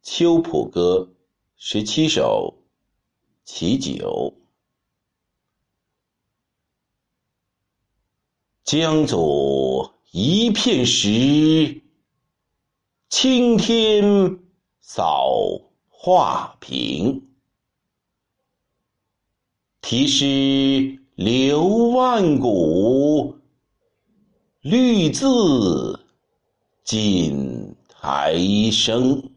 秋浦歌17首其9。江左一片石，青天扫画屏。题诗留万古，绿字锦台声。